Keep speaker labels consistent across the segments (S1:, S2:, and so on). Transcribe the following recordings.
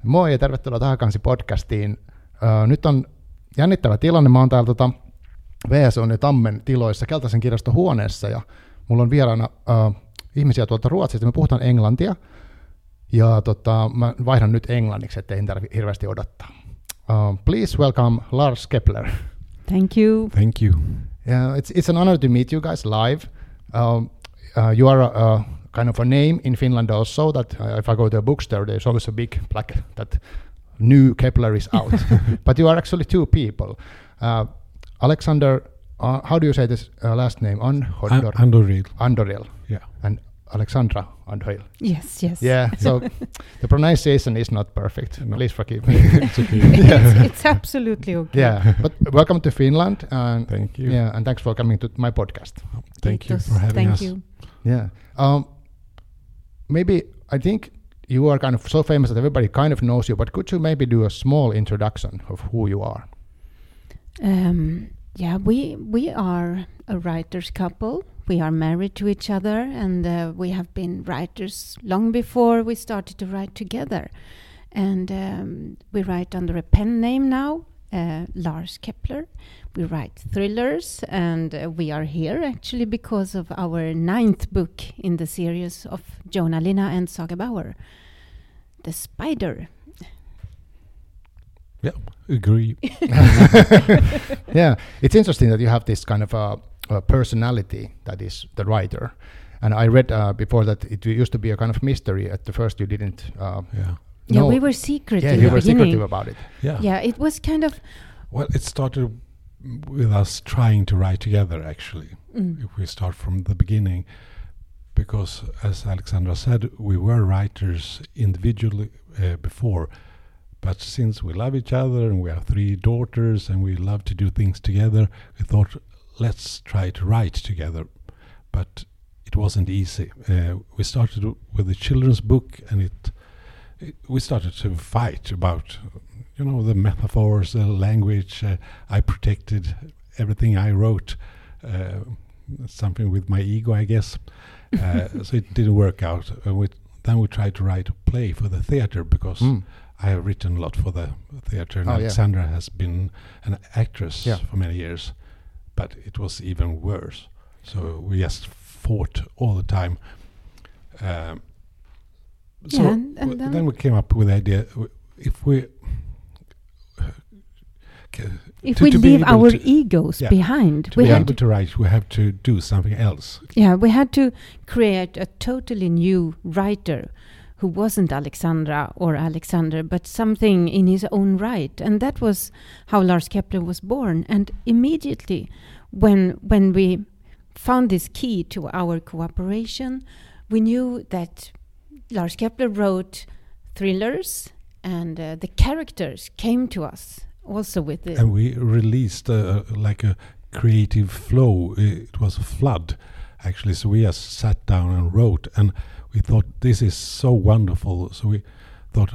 S1: Moi ja tervetuloa Tahakansi podcastiin. Nyt on jännittävä tilanne. Mä oon täällä VSOn ja Tammen tiloissa Keltaisen kirjaston huoneessa ja mulla on vieraana ihmisiä tuolta Ruotsista. Me puhutaan englantia ja mä vaihdan nyt englanniksi, ettei tarvitse hirveästi odottaa. Please welcome Lars Kepler.
S2: Thank you.
S3: Thank you.
S1: Yeah, it's an honor to meet you guys live. You are kind of a name in Finland also, that if I go to a bookstore, there's always a big plaque that new Kepler is out. But you are actually two people. Alexander, how do you say this last name?
S3: Andoril.
S1: Andoril.
S3: Yeah.
S1: And Alexandra Andoril.
S2: Yes.
S1: Yeah, so the pronunciation is not perfect. No. Please forgive me.
S3: It's okay.
S2: It's absolutely okay.
S1: Yeah, but welcome to Finland. And
S3: thank you.
S1: Yeah, and thanks for coming to my podcast.
S3: Thank you for having us.
S2: Thank you.
S1: Yeah. Maybe I think you are kind of so famous that everybody kind of knows you, but could you maybe do a small introduction of who you are?
S2: Yeah, we are a writers couple. We are married to each other, and we have been writers long before we started to write together. And we write under a pen name now, Lars Kepler. We write thrillers, and we are here actually because of our 9th book in the series of Joanna Linna and Saga Bauer, The Spider.
S3: Yeah, agree.
S1: Yeah, it's interesting that you have this kind of a personality that is the writer. And I read before that it used to be a kind of mystery. At the first you didn't
S2: Yeah, we were secretive.
S1: Yeah, you were secretive about it.
S2: Yeah, it was kind of...
S3: Well, it started with us trying to write together, actually, if we start from the beginning. Because, as Alexandra said, we were writers individually before. But since we love each other and we have 3 daughters and we love to do things together, we thought, let's try to write together. But it wasn't easy. We started with a children's book, and we started to fight about, the metaphors, the language. I protected everything I wrote, something with my ego, I guess. So it didn't work out. Then we tried to write a play for the theater because I have written a lot for the theater, and Alexandra has been an actress for many years. But it was even worse. So we just fought all the time. Then we came up with the idea, if we
S2: leave our egos behind,
S3: to be able to write, we have to do something else.
S2: Yeah, we had to create a totally new writer who wasn't Alexandra or Alexander, but something in his own right. And that was how Lars Kepler was born. And immediately when we found this key to our cooperation, we knew that Lars Kepler wrote thrillers, and the characters came to us also with it.
S3: And we released like a creative flow. It was a flood, actually. So we just sat down and wrote, and we thought, this is so wonderful. So we thought,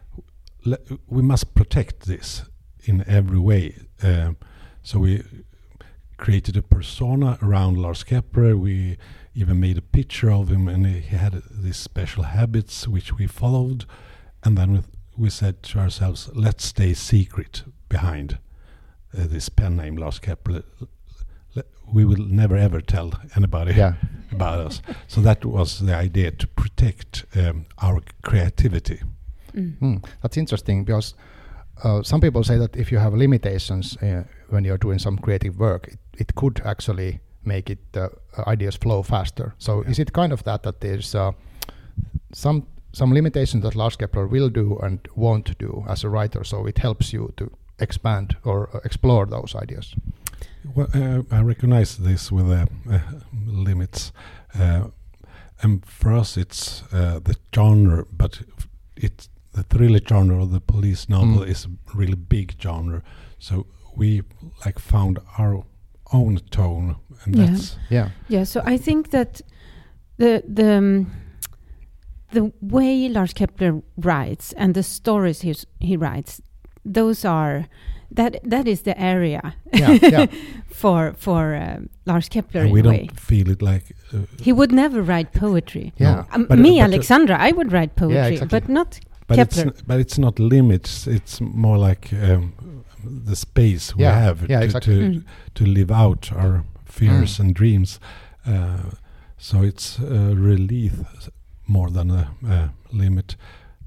S3: we must protect this in every way. So we created a persona around Lars Kepler. We even made a picture of him, and he had these special habits which we followed. And then we said to ourselves, let's stay secret behind this pen name, Lars Kepler. We will never ever tell anybody about us. So that was the idea, to protect our creativity.
S1: That's interesting, because some people say that if you have limitations when you're doing some creative work, it could actually make it ideas flow faster. So is it kind of that there's some limitations that Lars Kepler will do and won't do as a writer, so it helps you to expand or explore those ideas?
S3: Well, I recognize this with the limits, and for us it's the genre, but it's the thriller genre or the police novel is a really big genre. So we found our own tone, and that's
S2: So I think that the way Lars Kepler writes and the stories he writes, those are that is the area for Lars Kepler.
S3: And we don't feel it like
S2: he would never write poetry.
S1: Yeah,
S2: Alexandra, I would write poetry,
S1: exactly.
S2: but not Kepler.
S3: It's not limits. It's more like the space we have
S1: exactly.
S3: to live out our fears and dreams. So it's a relief more than a limit.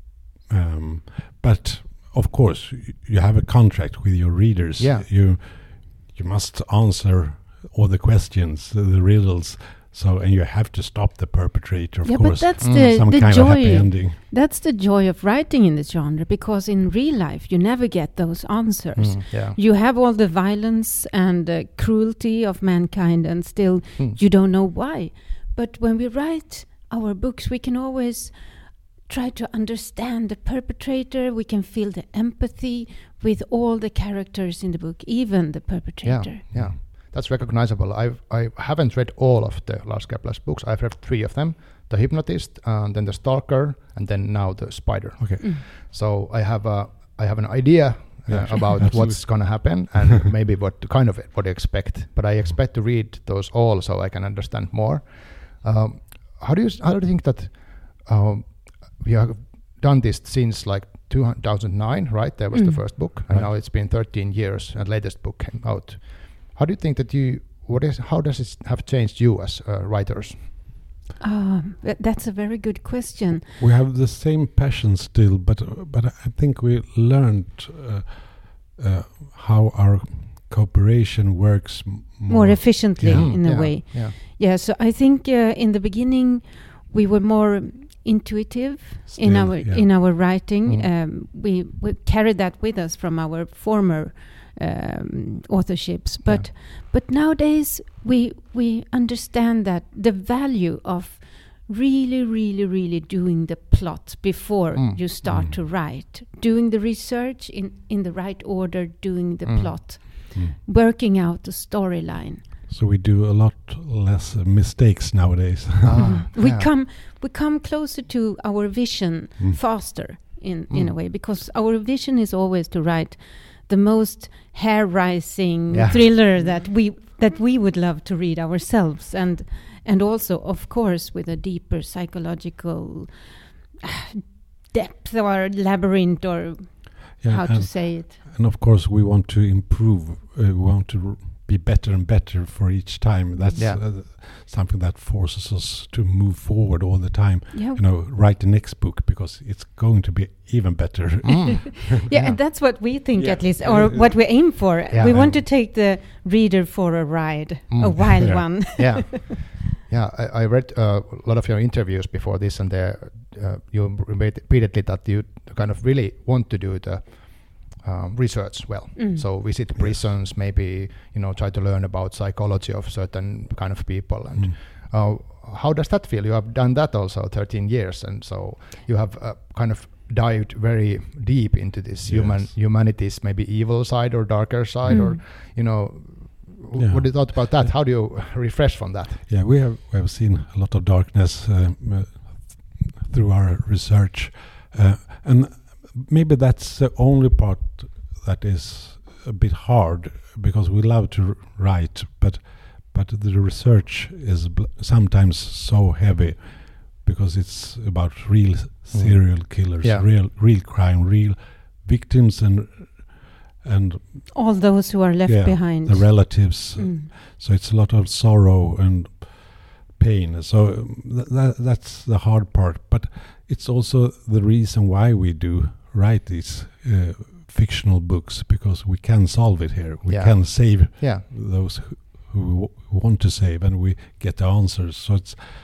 S3: But of course, you have a contract with your readers.
S1: Yeah.
S3: You must answer all the questions, the riddles. So, and you have to stop the perpetrator, of course.
S2: But that's
S3: some
S2: the
S3: kind
S2: joy.
S3: of happy ending.
S2: That's the joy of writing in this genre, because in real life you never get those answers. You have all the violence and cruelty of mankind, and still you don't know why. But when we write our books, we can always try to understand the perpetrator. We can feel the empathy with all the characters in the book, even the perpetrator.
S1: Yeah. That's recognizable. I haven't read all of the Lars Kepler's books. I've read 3 of them: The Hypnotist, and then The Stalker, and then now The Spider.
S3: Okay.
S1: So I have an idea about what's going to happen and maybe what to expect. But I expect to read those all so I can understand more. How do you think that we have done this since like 2009, right? There was the first book, and now it's been 13 years, and latest book came out. How do you think that how does it have changed you as writers?
S2: That's a very good question.
S3: We have the same passion still, but I think we learned how our cooperation works
S2: more efficiently in a way.
S1: Yeah.
S2: So I think in the beginning we were more intuitive in our writing. We carried that with us from our former authorships, but nowadays we understand that the value of really doing the plot before you start to write, doing the research in the right order, doing the plot, working out the storyline.
S3: So we do a lot less mistakes nowadays.
S2: We come closer to our vision faster in a way, because our vision is always to write the most hair-raising thriller that we would love to read ourselves, and also, of course, with a deeper psychological depth or labyrinth, or how to say it.
S3: And of course, we want to improve. We want to be better and better for each time. That's something that forces us to move forward all the time. Write the next book, because it's going to be even better.
S2: And that's what we think, at least, or what we aim for. We want to take the reader for a ride, a wild one.
S1: I read a lot of your interviews before this, and you repeatedly that you kind of really want to do the research well. So visit prisons, maybe try to learn about psychology of certain kind of people. And how does that feel? You have done that also 13 years, and so you have kind of dived very deep into this humanity's maybe evil side or darker side, or what do you thought about that? How do you refresh from that?
S3: Yeah, we have seen a lot of darkness through our research, and maybe that's the only part that is a bit hard, because we love to write, but the research is sometimes so heavy, because it's about real serial killers, real crime, real victims, and
S2: all those who are left behind,
S3: the relatives. So it's a lot of sorrow and pain. So that's the hard part, but it's also the reason why we do write these fictional books, because we can solve it here. We can save those who want to save, and we get the answers. So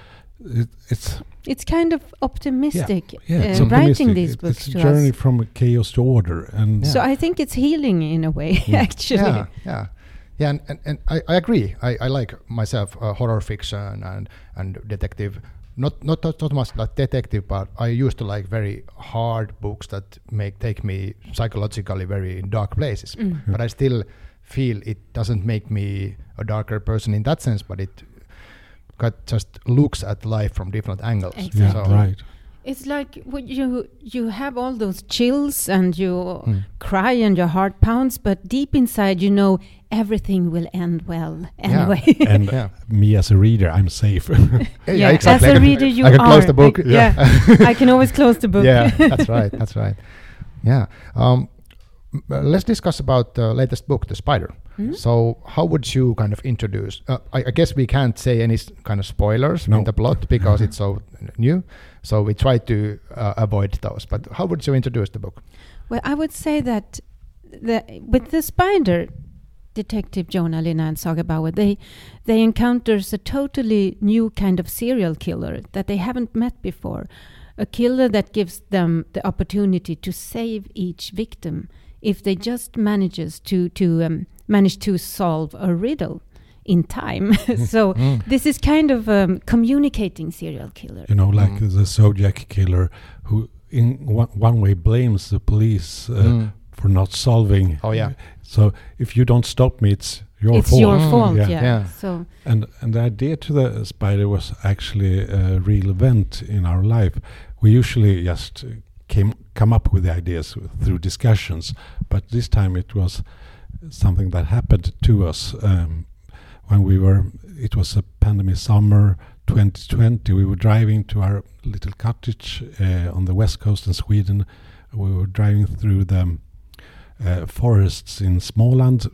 S3: it's
S2: kind of optimistic.
S3: It's
S2: writing these books.
S3: It's a journey from chaos to order, and
S2: so I think it's healing in a way. Actually,
S1: and I agree. I like myself horror fiction and detective. Not much like detective, but I used to like very hard books that take me psychologically very dark places. But I still feel it doesn't make me a darker person in that sense, but it just looks at life from different angles.
S2: Exactly.
S3: Right.
S2: It's like you have all those chills and you cry and your heart pounds, but deep inside you know everything will end well anyway.
S3: And me as a reader, I'm safe.
S1: Exactly.
S2: As a reader, you
S1: I can
S2: are.
S1: close the book.
S2: I can always close the book.
S1: Yeah, that's right. That's right. Yeah. Let's discuss about the latest book, The Spider. So how would you kind of introduce, I guess we can't say any kind of spoilers in the plot because it's so new, so we try to avoid those, but how would you introduce the book?
S2: Well, I would say that with The Spider, Detective Jonah Linna and Saga Bauer, they encounters a totally new kind of serial killer that they haven't met before, a killer that gives them the opportunity to save each victim if they just manage to solve a riddle in time. So this is kind of communicating serial killer.
S3: You know, like the Zodiac killer, who in one way blames the police for not solving.
S1: Oh yeah.
S3: So if you don't stop me, it's your fault.
S2: It's your fault.
S3: Yeah.
S2: Yeah. So
S3: and the idea to the spider was actually a real event in our life. We usually just come up with the ideas through discussions, but this time it was something that happened to us when it was a pandemic summer 2020. We were driving to our little cottage on the west coast in Sweden. We were driving through the forests in Småland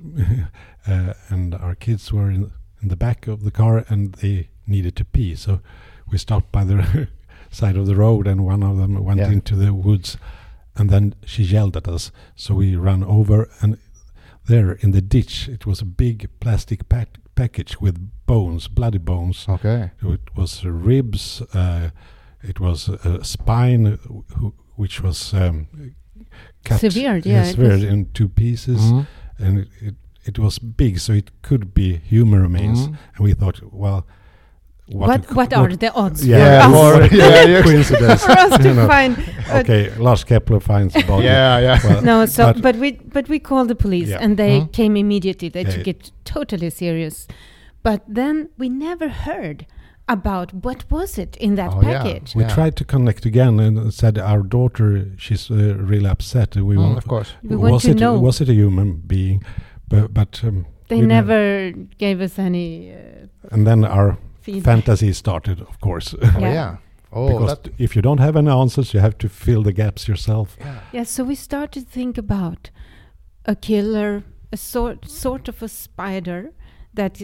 S3: and our kids were in the back of the car and they needed to pee, so we stopped by the side of the road and one of them went into the woods, and then she yelled at us, so we ran over, and there in the ditch it was a big plastic package with bones, bloody bones.
S1: Okay.
S3: It was ribs, it was a spine which was cut
S2: severed
S3: in two pieces, and it was big, so it could be human remains, and we thought, well,
S2: what are the odds
S3: coincidence
S2: for us to find?
S3: Okay, Lars Kepler finds the body.
S1: Well,
S2: no, so but we called the police and they came immediately. They took it totally serious, but then we never heard about what was it in that package.
S3: We tried to connect again and said our daughter, she's really upset. We want,
S1: of course,
S2: we want to know.
S3: Was it a human being? But
S2: they never gave us any.
S3: And then our
S2: feedback.
S3: Fantasy started, of course. Because if you don't have any answers, you have to fill the gaps yourself.
S2: So we started to think about a killer, a sort of a spider that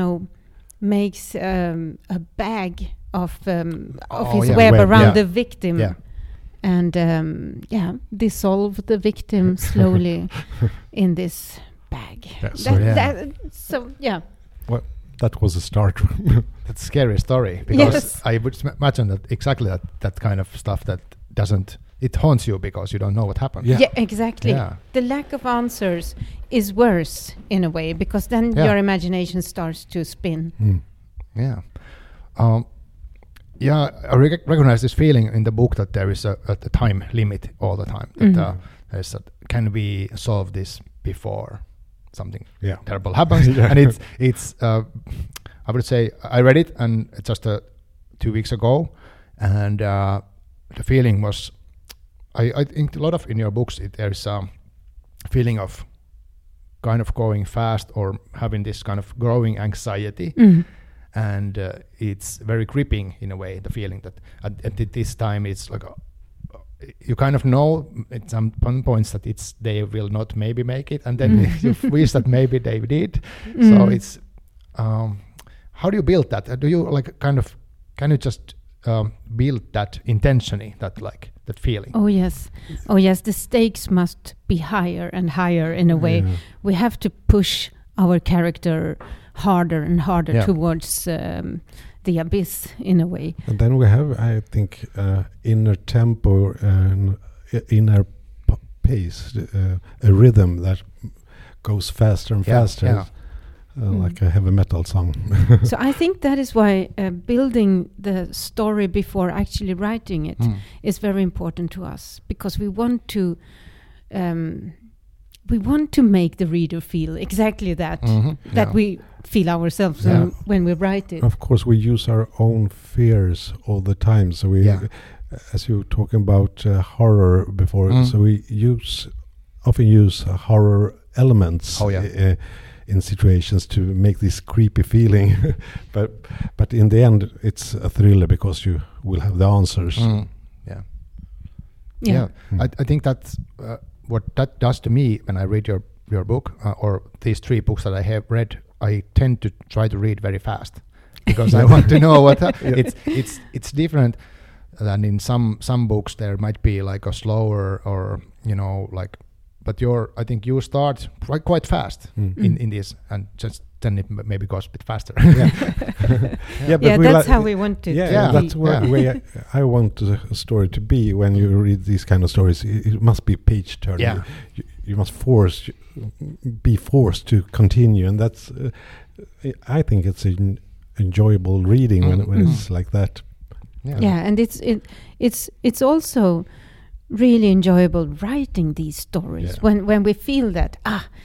S2: makes a bag of his web around the victim, and dissolve the victim slowly in this bag.
S3: Well, that was a start.
S1: That's a scary story, because I would imagine that exactly that kind of stuff that doesn't, it haunts you because you don't know what happened.
S2: Yeah, exactly. Yeah. The lack of answers is worse in a way, because then your imagination starts to spin.
S1: Yeah. I recognize this feeling in the book that there is a time limit all the time. That there's can we solve this before something terrible happens? And it's I would say I read it and just 2 weeks ago, and the feeling was, I think a lot of in your books there's a feeling of kind of going fast or having this kind of growing anxiety. And it's very gripping in a way, the feeling that at this time it's like you kind of know at some points that they will not maybe make it, and then you wish that maybe they did. So it's how do you build that? Do you can you just build that intentionally, that feeling?
S2: Oh yes, the stakes must be higher and higher in a way. We have to push our character harder and harder towards the abyss in a way.
S3: And then we have, I think, inner tempo and inner pace, a rhythm that goes faster and faster, like a heavy metal song.
S2: So I think that is why building the story before actually writing it is very important to us, because we want to make the reader feel exactly that we feel ourselves when we write it.
S3: Of course, we use our own fears all the time. So we as you were talking about horror before, so we often use horror elements in situations to make this creepy feeling, but in the end it's a thriller because you will have the answers.
S1: I think that's what that does to me when I read your book, or these 3 books that I have read. I tend to try to read very fast because I want to know what it's different than in some books. There might be like a slower, or but I think you start quite fast in this, and just then it maybe goes a bit faster.
S3: But
S2: that's how we want it.
S3: That's where I want a story to be. When you read these kind of stories, it must be page turning. You must be forced to continue, and that's I think it's an enjoyable reading when it's like that.
S2: And it's also really enjoyable writing these stories when we feel that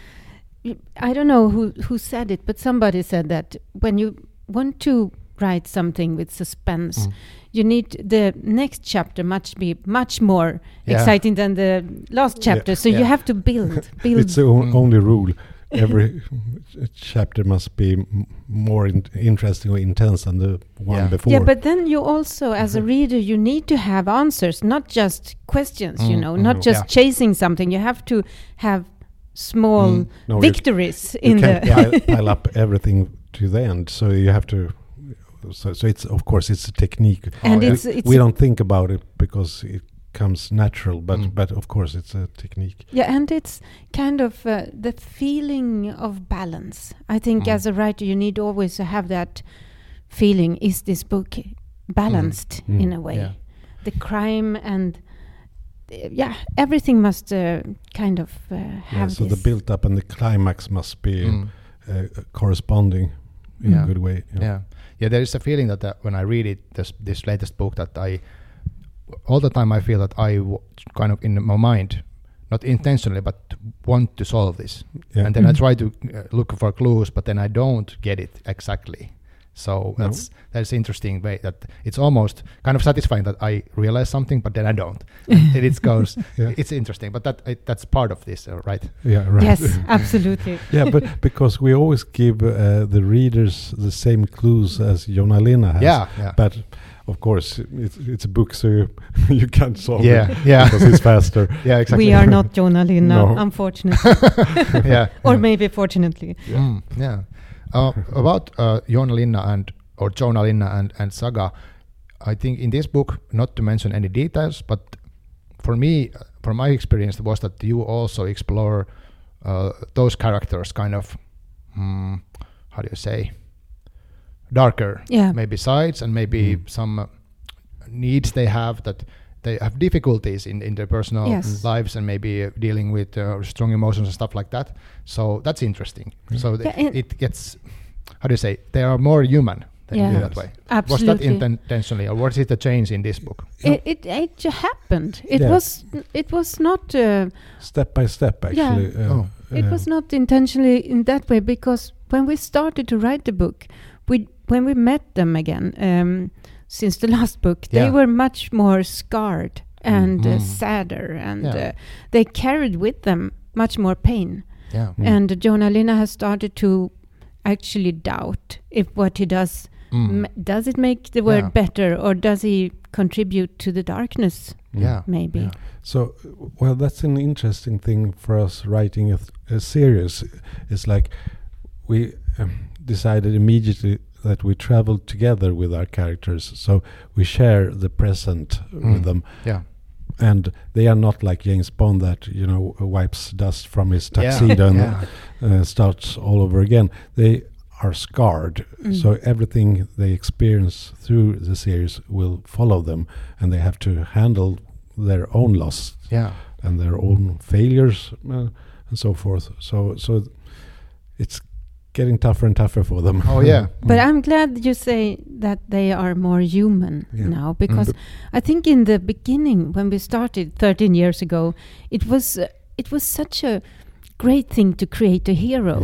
S2: I don't know who said it, but somebody said that when you want to write something with suspense, you need the next chapter be much more exciting than the last chapter. So you have to build.
S3: It's the only rule. Every chapter must be more interesting or intense than the one before.
S2: Yeah, but then you also, as a reader, you need to have answers, not just questions, not just chasing something. You have to have small victories
S3: you can't pile up everything to the end. So you have to... So it's, of course, it's a technique.
S2: And
S3: we don't think about it because it comes natural, but of course it's a technique.
S2: Yeah, and it's kind of the feeling of balance. I think as a writer you need always to have that feeling, is this book balanced in a way? Yeah. The crime and everything must kind of have
S3: so
S2: this.
S3: The build up and the climax must be corresponding in a good way.
S1: Yeah, there is a feeling that when I read it, this latest book, that all the time I feel that I kind of in my mind, not intentionally, but want to solve this. Yeah. And then I try to look for clues, but then I don't get it exactly. So that's interesting way that it's almost kind of satisfying that I realize something, but then I don't. And it goes, it's interesting, but that's part of this, right?
S3: Yeah, right.
S2: Yes, absolutely.
S3: But because we always give the readers the same clues as Jonna Linna has.
S1: Yeah.
S3: But of course, it's a book, so you can't solve it
S1: because
S3: it's faster.
S1: Yeah, exactly.
S2: We are not Jonna Linna, unfortunately. Or maybe fortunately.
S1: About Jonna Linna and Saga, I think in this book, not to mention any details, but for me, from my experience, was that you also explore those characters kind of, how do you say, darker, maybe sides, and maybe some needs they have, that they have difficulties in their personal lives, and maybe dealing with strong emotions and stuff like that. So that's interesting. So it gets, how do you say, they are more human in that way.
S2: Absolutely.
S1: Was that intentionally, or was it a change in this book?
S2: It happened. It was not
S3: step by step, actually.
S2: It was not intentionally in that way, because when we started to write the book, when we met them again, since the last book, they were much more scarred and sadder, and they carried with them much more pain. Yeah. And Jonna Linna has started to actually doubt if what he does, does it make the world better, or does he contribute to the darkness? Maybe. Yeah.
S3: So, well, that's an interesting thing for us writing a series. It's like we decided immediately that we travel together with our characters, so we share the present with them. Yeah. And they are not like James Bond that wipes dust from his tuxedo and starts all over again. They are scarred, so everything they experience through the series will follow them, and they have to handle their own loss and their own failures and so forth. So it's getting tougher and tougher for them.
S2: But I'm glad you say that they are more human now, because I think in the beginning, when we started 13 years ago, it was such a great thing to create a hero.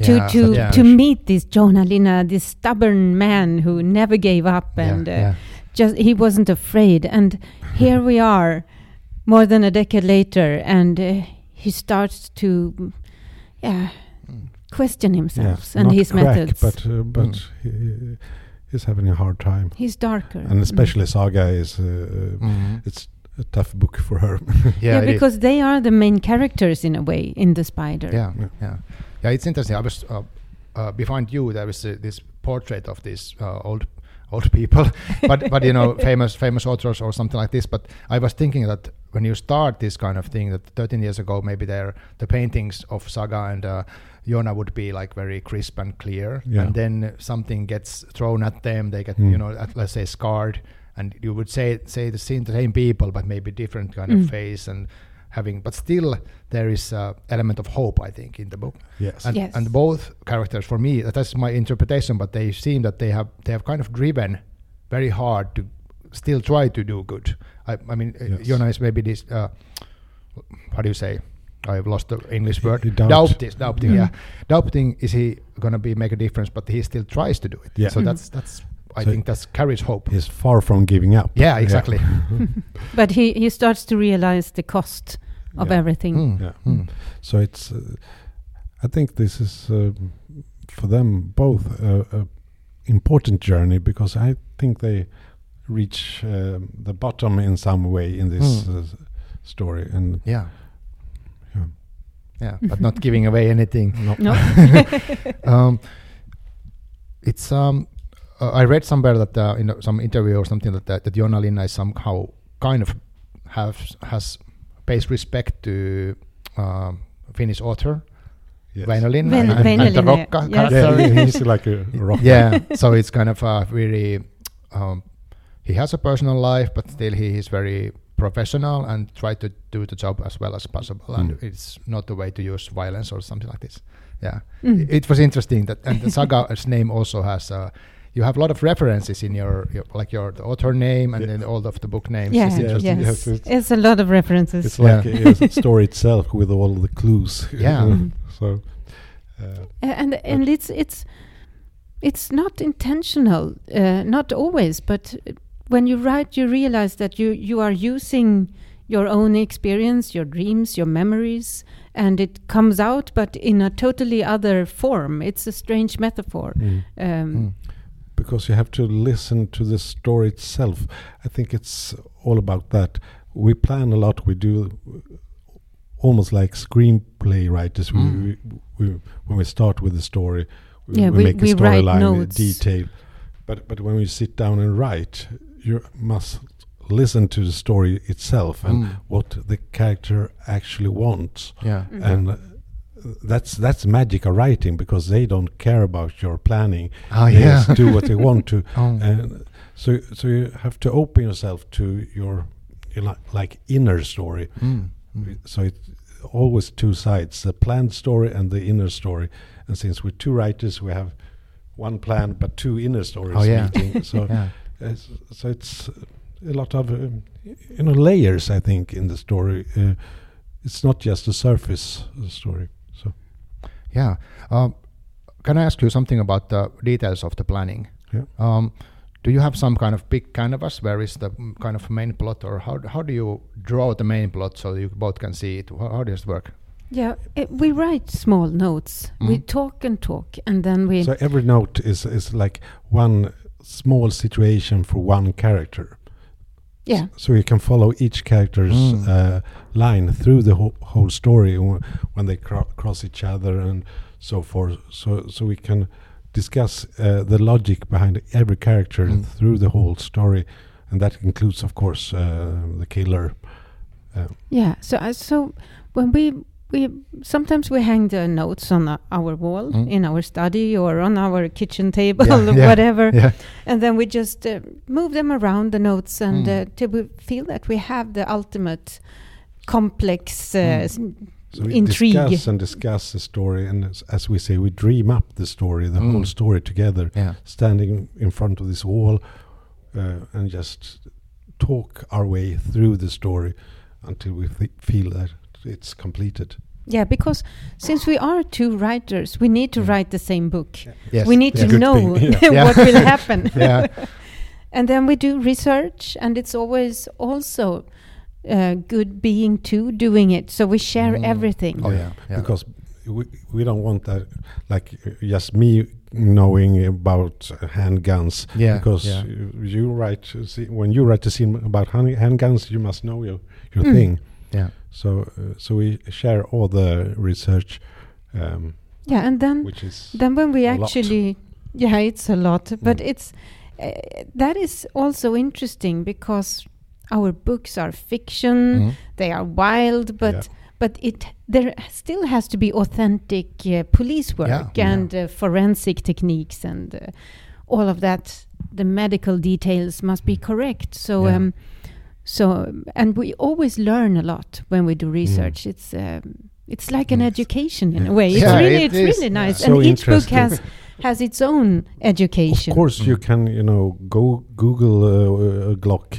S2: To meet this Jonna Linna, this stubborn man who never gave up, and he wasn't afraid. And here we are, more than a decade later, and he starts to, question himself and his methods.
S3: But he's having a hard time.
S2: He's darker,
S3: and especially Saga is it's a tough book for her.
S2: Because they are the main characters in a way in The Spider.
S1: Yeah. It's interesting. I was behind you. There was this portrait of these old people, but you know, famous authors or something like this. But I was thinking that when you start this kind of thing, that 13 years ago, maybe the paintings of Saga and Jonna would be like very crisp and clear, and then something gets thrown at them. They get let's say scarred, and you would say the same people, but maybe different kind of face and having. But still, there is an element of hope, I think, in the book.
S3: Yes.
S1: And both characters, for me, that's my interpretation. But they seem that they have kind of driven very hard to still try to do good. I mean, Jonna is maybe this. How do you say? I've lost the English word. Doubting. Yeah, doubting. Is he gonna make a difference? But he still tries to do it. Yeah. So that's. I think that carries hope.
S3: He's far from giving up.
S1: Yeah, exactly.
S2: But he starts to realize the cost of everything.
S3: So it's. I think this is for them both a important journey, because I think they reach the bottom in some way in this story. And
S1: but not giving away anything.
S2: No.
S1: It's I read somewhere that in some interview or something that Jonna Linna is somehow kind of has pays respect to Finnish author Väinö Linna and the Rocca character.
S3: Yeah, he's like a rock.
S1: Yeah, so it's kind of really he has a personal life, but still he is very professional and try to do the job as well as possible. And it's not the way to use violence or something like this. Yeah, it was interesting that, and the Saga's name also has. You have a lot of references in your the author name and then all of the book names.
S2: Yeah,
S1: it's
S2: it's a lot of references.
S3: It's like a story itself with all the clues.
S1: Yeah.
S3: So.
S2: And it's not intentional, not always, but when you write, you realize that you are using your own experience, your dreams, your memories, and it comes out, but in a totally other form. It's a strange metaphor.
S3: Because you have to listen to the story itself. I think it's all about that. We plan a lot. We do almost like screenplay writers. We when we start with the story, we make a storyline with detail. But when we sit down and write, you must listen to the story itself and what the character actually wants. And that's magic of writing, because they don't care about your planning. They just do what they want to. And so you have to open yourself to your like inner story. So it's always two sides, the planned story and the inner story. And since we're two writers, we have one planned but two inner stories meeting. So so it's a lot of layers, I think, in the story. It's not just a surface story. So
S1: can I ask you something about the details of the planning? Do you have some kind of big canvas where is the kind of main plot, or how do you draw the main plot so you both can see it? How does it work?
S2: We write small notes. We talk, and then we.
S3: So every note is like one small situation for one character.
S2: Yeah.
S3: So you can follow each character's line through the whole story when they cross each other and so forth. So we can discuss the logic behind every character through the whole story, and that includes, of course, the killer.
S2: So when we sometimes we hang the notes on our wall in our study or on our kitchen table or whatever, and then we just move them around, the notes, and till we feel that we have the ultimate complex
S3: so we
S2: intrigue.
S3: discuss the story, and as we say, we dream up the story, the whole story together, standing in front of this wall, and just talk our way through the story until we feel that it's completed.
S2: Yeah, because since we are two writers, we need to write the same book.
S1: Yes.
S2: We need to know what will happen. And then we do research, and it's always also good being two doing it. So we share everything.
S1: Oh yeah.
S3: Because we don't want that, like just me knowing about handguns.
S1: Yeah,
S3: because
S1: yeah.
S3: you write when you write a scene about handguns, you must know your thing.
S1: Yeah.
S3: So we share all the research.
S2: And then
S3: Which is
S2: when we
S3: a lot.
S2: actually, it's a lot, but it's that is also interesting because our books are fiction, they are wild, but there still has to be authentic police work and forensic techniques and all of that. The medical details must be correct. So and we always learn a lot when we do research. It's like an education in a way. It's really nice,
S3: So
S2: and each book
S3: interesting.
S2: has its own education.
S3: Of course, you can go Google a Glock.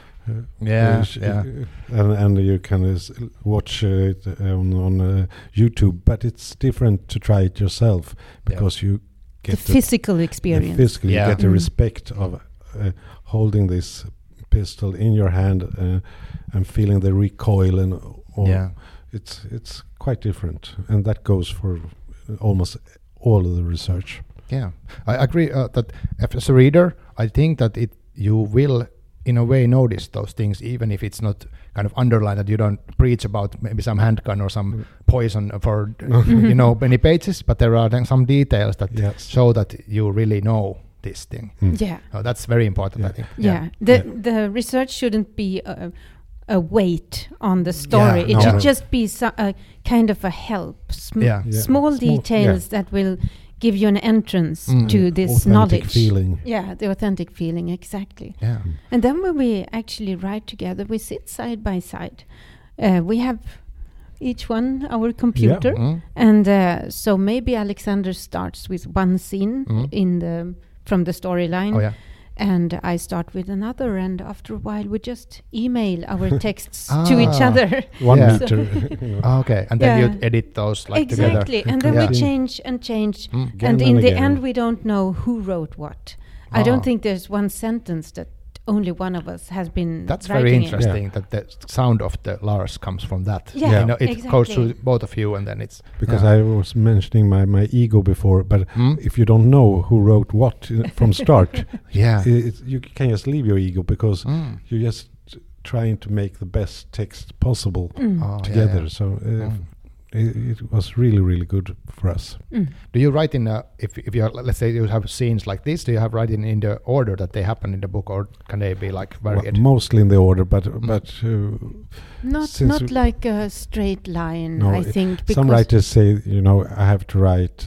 S3: And you can watch it on YouTube, but it's different to try it yourself because you get
S2: the physical experience.
S3: Physically, you get the respect of holding this pistol in your hand and feeling the recoil and all. It's quite different, and that goes for almost all of the research.
S1: Yeah, I agree that as a reader, I think that you will in a way notice those things, even if it's not kind of underlined, that you don't preach about maybe some handgun or some poison for many pages, but there are then some details that show that you really know this thing. That's very important, I think.
S2: The research shouldn't be a weight on the story. It should just be a kind of a help, small details that will give you an entrance to this
S3: authentic
S2: knowledge.
S3: Feeling.
S2: Yeah, the authentic feeling, exactly.
S1: Yeah.
S2: And then when we actually write together, we sit side by side. We have each one our computer, and so maybe Alexander starts with one scene from the storyline. And I start with another, and after a while we just email our texts to each other.
S3: 1 meter.
S1: Okay, and then you edit those together.
S2: Exactly, and then we change and change, and in the end we don't know who wrote what. I don't think there's one sentence that only one of us has been.
S1: That's very interesting that the sound of the Lars comes from that. It goes through both of you, and then it's
S3: because I was mentioning my ego before, but if you don't know who wrote what from start, you can just leave your ego because you're just trying to make the best text possible together. So it was really, really good for us.
S1: Do you write in if you let's say you have scenes like this, do you have writing in the order that they happen in the book, or can they be like varied?
S3: Well, mostly in the order, but
S2: not like a straight line. I think because
S3: some writers say I have to write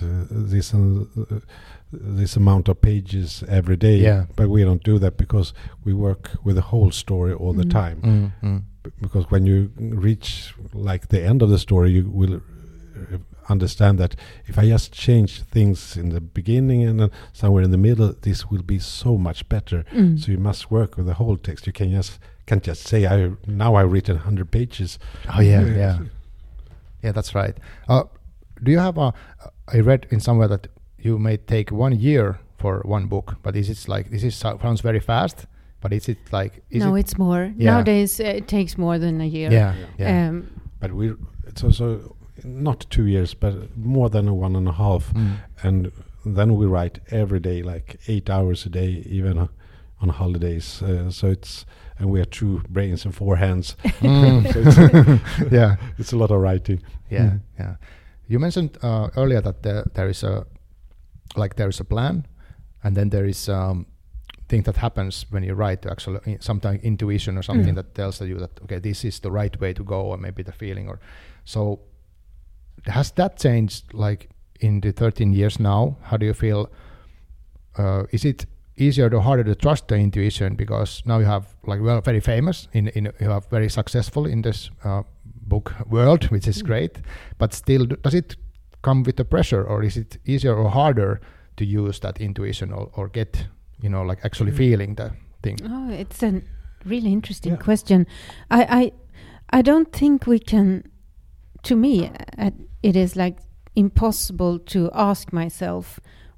S3: this amount of pages every day, but we don't do that because we work with the whole story all the time. Because when you reach like the end of the story, you will understand that if I just change things in the beginning and then somewhere in the middle, this will be so much better. So you must work with the whole text. You can't just say I've written 100 pages.
S1: Yeah, that's right. Do you have I read in somewhere that you may take 1 year for one book, but sounds very fast. But is it like?
S2: It's more. Nowadays, it takes more than a year.
S3: But it's also not 2 years, but more than 1.5. And then we write every day, like 8 hours a day, even on holidays. And we have 2 brains and 4 hands. It's a lot of writing.
S1: Yeah. You mentioned earlier that there is a plan, and then there is thing that happens when you write, actually sometimes intuition or something that tells you that okay, this is the right way to go, or maybe the feeling. Or so has that changed like in the 13 years now? How do you feel? Is it easier or harder to trust the intuition because now you have very famous you have very successful in this book world, which is great, but still does it come with the pressure, or is it easier or harder to use that intuition or get actually feeling the thing?
S2: Oh, it's a really interesting question. I don't think we can. To me, it is like impossible to ask myself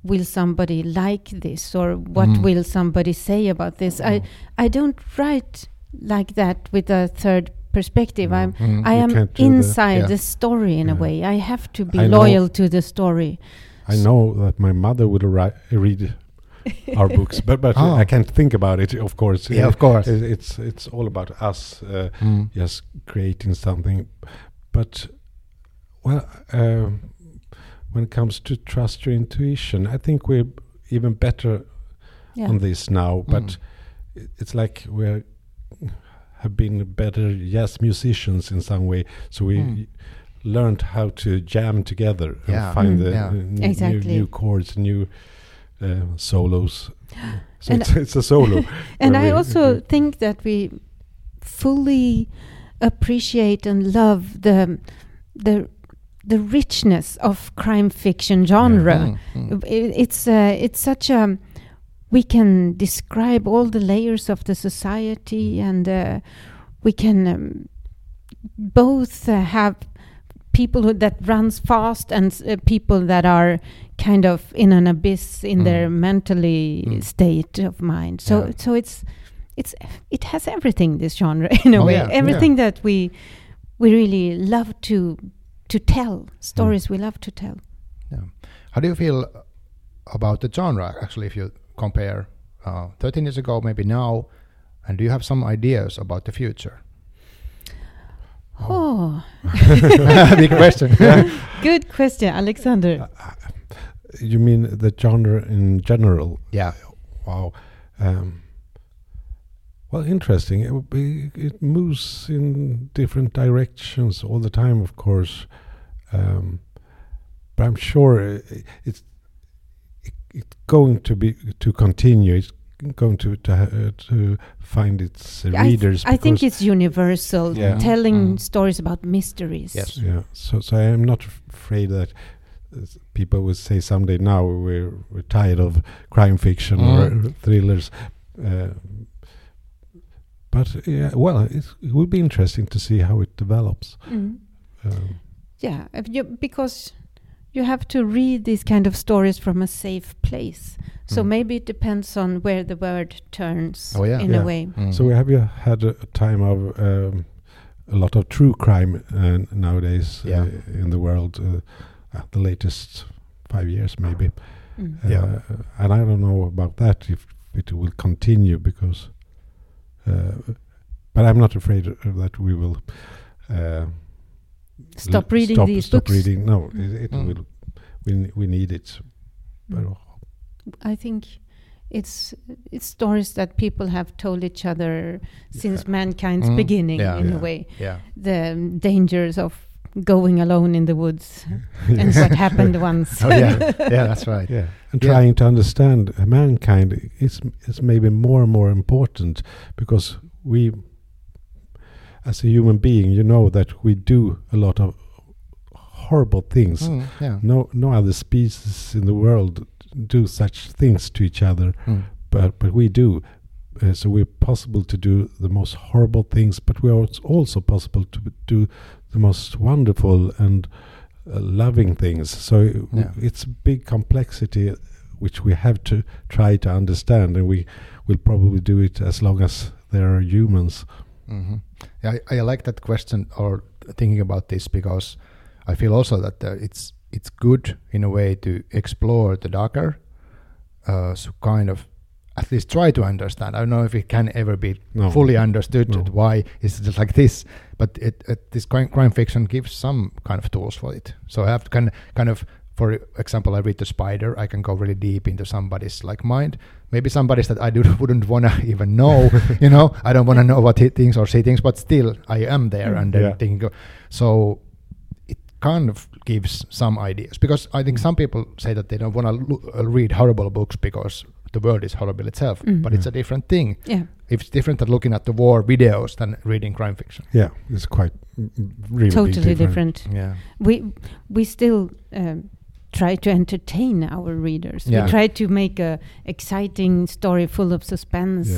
S2: will somebody like this, or what will somebody say about this. I don't write like that with a third perspective. I am inside the story in a way. I have to be loyal to the story.
S3: I know that my mother would read our books, but I can't think about it. Of course,
S1: yeah, of course,
S3: it's all about us just creating something. But well, when it comes to trust your intuition, I think we're even better on this now. But it's like we have been better jazz musicians in some way. So we learned how to jam together and find the new chords, new solos. So it's a solo.
S2: And I also think that we fully appreciate and love the richness of crime fiction genre. It's such a, we can describe all the layers of the society, and we can both have people that runs fast and people that are kind of in an abyss in their mentally state of mind. So it has everything, this genre, in a way. Everything that we really love to tell, stories we love to tell.
S1: Yeah. How do you feel about the genre, actually, if you compare 13 years ago, maybe now, and do you have some ideas about the future? Big question.
S2: Good question, Alexander.
S3: You mean the genre in general?
S1: Yeah.
S3: Wow. Well, interesting. It moves in different directions all the time, of course. But I'm sure it's going to continue. It's going to find its readers.
S2: I think it's universal, telling stories about mysteries.
S1: Yes.
S3: Yeah. So I am not afraid that people will say someday, now we're tired of crime fiction or thrillers. But well, it will be interesting to see how it develops.
S2: Because you have to read these kind of stories from a safe place. So maybe it depends on where the word turns in a way.
S3: So have you had a time of a lot of true crime nowadays in the world? The latest 5 years, maybe. And I don't know about that, if it will continue, because... but I'm not afraid that we will
S2: stop reading these books.
S3: Reading. No, it will. We need it. But
S2: I think it's stories that people have told each other since mankind's beginning, in a way.
S1: Yeah.
S2: The dangers of going alone in the woods and what happened once.
S1: That's right.
S3: Yeah, and trying to understand mankind is maybe more and more important, because we, as a human being, you know that we do a lot of horrible things. No other species in the world do such things to each other, but we do. So we're possible to do the most horrible things, but we are also possible to do the most wonderful and loving things. So it's a big complexity which we have to try to understand, and we will probably do it as long as there are humans.
S1: Yeah, I like that question, or thinking about this, because I feel also that it's good in a way to explore the darker, so kind of at least try to understand. I don't know if it can ever be fully understood why it's just like this, but this crime fiction gives some kind of tools for it. So I have to kind of, for example, I read The Spider, I can go really deep into somebody's like mind, maybe somebody's that I wouldn't want to even know, I don't want to know what he thinks or see things, but still I am there and then thinking, so it kind of gives some ideas, because I think some people say that they don't want to read horrible books because the world is horrible itself, but it's a different thing. Yeah, it's different than looking at the war videos than reading crime fiction.
S3: Yeah, it's quite really
S2: totally different.
S1: Yeah,
S2: we still try to entertain our readers. We try to make a exciting story full of suspense.
S3: Yeah,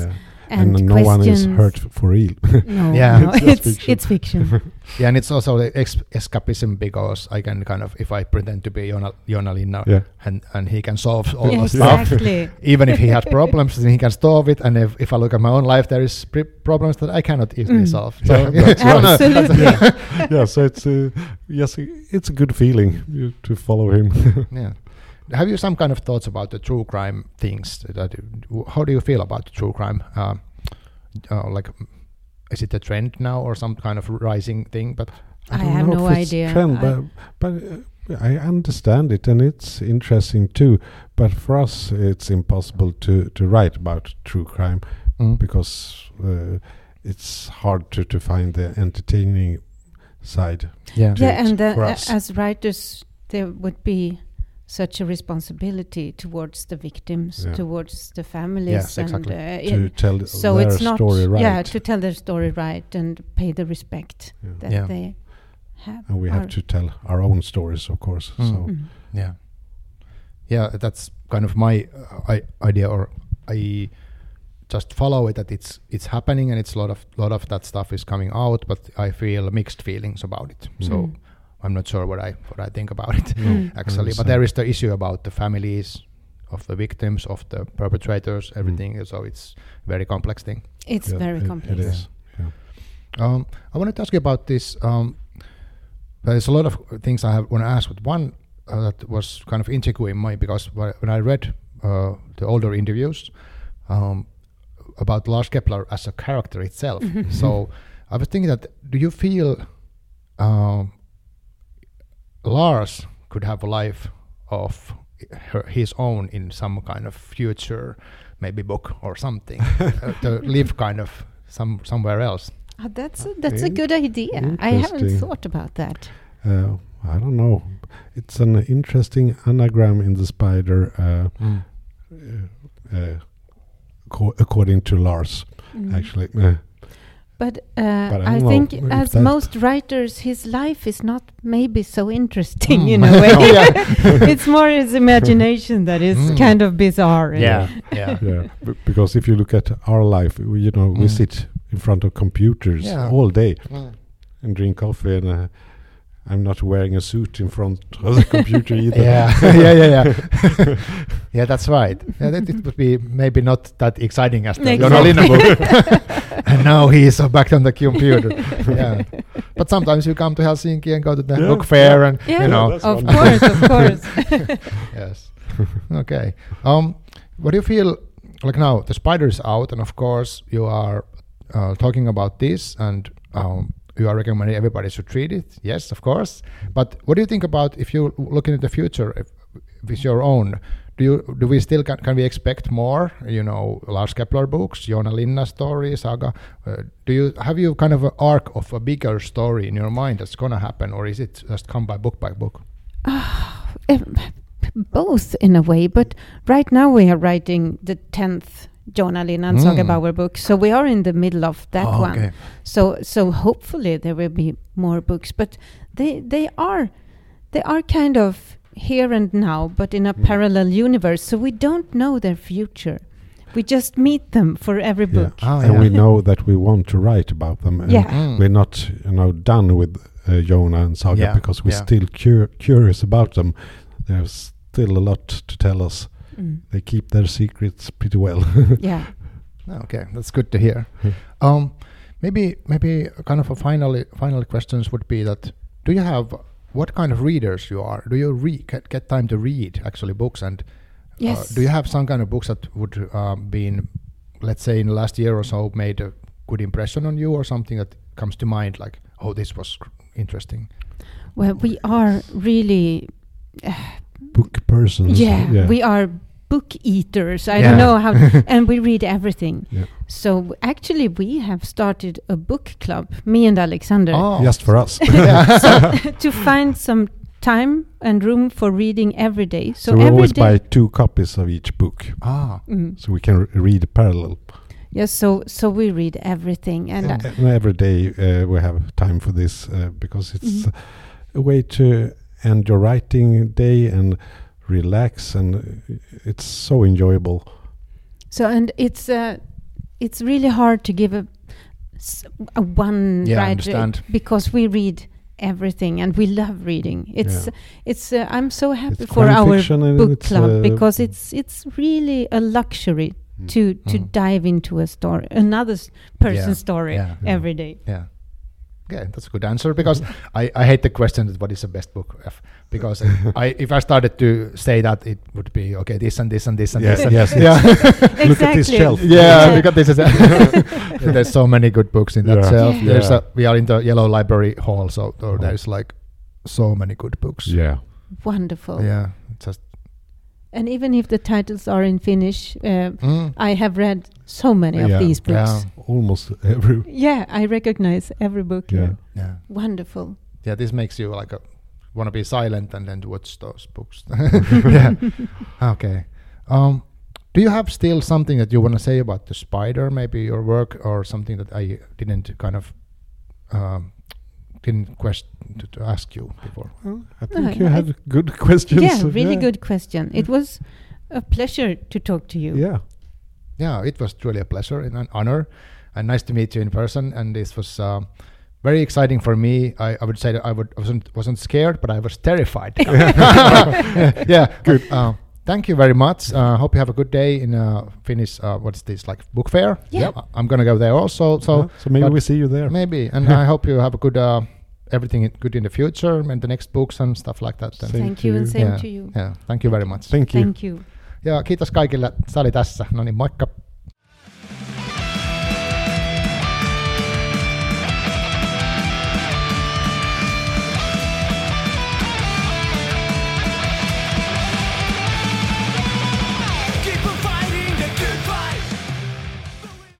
S2: and
S3: no one is
S2: questions.
S3: hurt for real.
S2: No,
S1: Yeah.
S2: no,
S3: It's just fiction.
S2: it's fiction.
S1: Yeah, and it's also the escapism because I can kind of, if I pretend to be Jonna Linna,
S3: Yeah.
S1: and he can solve all
S2: Yeah,
S1: the stuff,
S2: exactly.
S1: even if he has problems, then he can solve it. And if I look at my own life, there is problems that I cannot easily solve. So
S3: That's right.
S2: Absolutely.
S3: Yeah, so it's yes, it's a good feeling to follow him.
S1: yeah. Have you some kind of thoughts about the true crime things? How do you feel about true crime? Like, is it a trend now or some kind of rising thing? But
S2: I
S3: don't
S2: have
S3: know
S2: no
S3: if it's
S2: idea.
S3: trend, but I understand it, and it's interesting too. But for us, it's impossible to write about true crime because it's hard to find the entertaining side.
S1: yeah,
S2: Yeah, and
S3: for us.
S2: as writers, there would be such a responsibility towards the victims,
S3: Yeah.
S2: towards the families,
S1: Yes,
S2: and
S1: exactly.
S3: To tell
S2: so
S3: their
S2: it's not
S3: story right.
S2: yeah, to tell their story right and pay the respect
S3: Yeah.
S2: that
S1: Yeah.
S2: they have.
S3: And we have to tell our own stories, of course. So
S2: Mm.
S1: yeah, that's kind of my idea, or I just follow it that it's happening, and it's a lot of that stuff is coming out, but I feel mixed feelings about it. So I'm not sure what I think about it actually. But there is the issue about the families of the victims, of the perpetrators, everything. So it's a very complex thing.
S2: It's
S3: yeah,
S2: very complex.
S3: It is. Yeah.
S1: I wanted to ask you about this. There's a lot of things I want to ask, but one that was kind of intriguing me because when I read the older interviews about Lars Kepler as a character itself, so I was thinking that do you feel Lars could have a life of his own in some kind of future, maybe book or something, to live kind of somewhere else?
S2: That's a good idea. I haven't
S3: Interesting.
S2: thought about that.
S3: I don't know. It's an interesting anagram in the spider, according to Lars, actually.
S2: But
S3: I
S2: I
S3: don't
S2: think,
S3: know if
S2: as
S3: that-
S2: most writers, his life is not maybe so interesting in
S1: Mm.
S2: a way. It's more his imagination that is kind of bizarre.
S1: yeah.
S3: Yeah, because if you look at our life, we sit in front of computers
S1: Yeah.
S3: all day and drink coffee, and I'm not wearing a suit in front of the computer either.
S1: yeah. Yeah, that's right. Yeah, that it would be maybe not that exciting as the
S2: Exactly.
S1: Jonna Linna book. And now he is back on the computer. Yeah, but sometimes you come to Helsinki and go to the
S3: Yeah,
S1: book fair,
S3: yeah.
S1: and
S2: Yeah,
S1: you know.
S3: that's
S2: of
S3: wonderful.
S2: course.
S1: Yes. Okay. What do you feel like now? The spider is out, and of course you are talking about this, and you are recommending everybody should read it. Yes, of course. But what do you think about if you look into the future, if it's your own? Do we still can we expect more? Lars Kepler books, Jonna Linna story, saga. Have you kind of an arc of a bigger story in your mind that's gonna happen, or is it just come by book?
S2: Both in a way, but right now we are writing the 10th Jonna Linna and Saga Bauer book, so we are in the middle of that one.
S1: Okay.
S2: So hopefully there will be more books, but they are kind of here and now, but in a parallel universe. So we don't know their future. We just meet them for every
S3: Yeah.
S2: book.
S3: And we know that we want to write about them. And
S2: Yeah.
S3: we're not done with Jonna and Saga
S1: Yeah,
S3: because we're
S1: yeah.
S3: still curious about them. There's still a lot to tell us. They keep their secrets pretty well.
S2: Yeah.
S1: Okay, that's good to hear. Maybe kind of a final questions would be that do you have what kind of readers you are? Do you get time to read actually books, and
S2: Yes.
S1: do you have some kind of books that would been, let's say, in the last year or so made a good impression on you, or something that comes to mind like, oh, this was interesting?
S2: Well, we are really
S3: Book persons.
S2: we are book eaters. I
S1: Yeah.
S2: don't know how, and we read everything.
S3: Yeah.
S2: So actually, we have started a book club, me and Alexander,
S3: Just for us.
S2: to find some time and room for reading every day.
S3: So we
S2: every
S3: always
S2: day,
S3: buy 2 copies of each book, so we can read parallel.
S2: yes. So we read everything, and
S3: And every day we have time for this because it's a way to end your writing day and relax, and it's so enjoyable.
S2: so and it's it's really hard to give a one
S1: Yeah, I
S2: writer
S1: understand.
S2: because we read everything and we love reading. It's I'm so happy
S3: It's
S2: for
S3: crime
S2: our
S3: fiction and
S2: book
S3: it's,
S2: club because it's really a luxury to dive into a story, another person's story every day.
S1: Yeah. Okay, that's a good answer because I hate the question that what is the best book because if I started to say that it would be okay this and this and this and this and
S3: yes.
S1: yeah.
S3: Look at this shelf.
S1: Yeah, look at this. There's so many good books in that shelf.
S2: Yeah.
S1: We are in the Yellow Library Hall, so there's like so many good books.
S3: Yeah.
S2: Wonderful.
S1: Yeah, just
S2: and even if the titles are in Finnish, I have read so many of these books.
S1: Yeah.
S3: Almost every.
S2: Yeah, I recognize every book.
S3: Yeah.
S1: Yeah.
S2: Wonderful.
S1: Yeah, this makes you like want to be silent and then watch those books. Yeah. Okay. Do you have still something that you want to say about the spider, maybe your work, or something that I didn't kind of didn't to ask you before?
S3: Well, I think you had good questions.
S2: Yeah, really good question. It was a pleasure to talk to you.
S3: Yeah.
S1: Yeah, it was truly a pleasure and an honor, and nice to meet you in person. And this was very exciting for me. I would say that I wasn't scared, but I was terrified. Yeah, good. Thank you very much. Hope you have a good day in Finnish. What's this, like book fair?
S2: Yeah.
S1: I'm gonna go there also. So
S3: maybe we see you there.
S1: Maybe, and I hope you have a good everything good in the future and the next books and stuff like that.
S2: Thank you and same to you.
S1: Yeah, thank you very much.
S3: Thank you.
S2: Thank you.
S1: Ja kiitos kaikille. Se oli tässä. No niin, moikka.